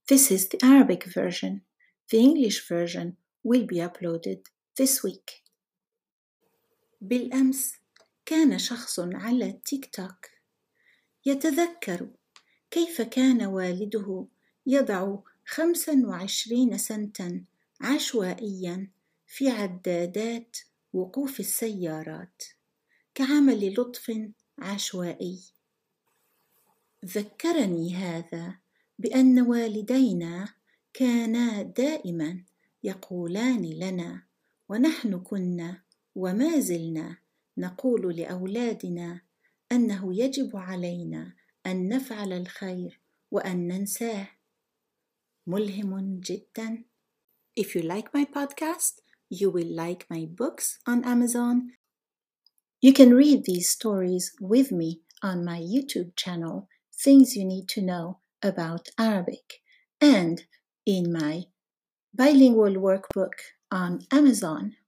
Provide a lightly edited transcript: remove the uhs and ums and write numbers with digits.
This is the Arabic version. The English version will be uploaded this week. بالأمس كان شخص على التيك توك يتذكر كيف كان والده يضع 25 سنتا عشوائيا في عدادات وقوف السيارات كعمل لطف عشوائي. ذكرني هذا بأن والدينا كانا دائما يقولان لنا ونحن كنا وما زلنا نقول لأولادنا أنه يجب علينا أن نفعل الخير وأن ننساه. ملهم جدا. If you like my podcast, you will like my books on Amazon. You can read these stories with me on my YouTube channel, Things You Need to Know About Arabic, and in my bilingual workbook on Amazon.